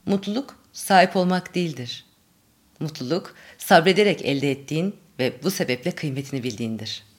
Mutluluk sahip olmak değildir. Mutluluk sabrederek elde ettiğin ve bu sebeple kıymetini bildiğindir.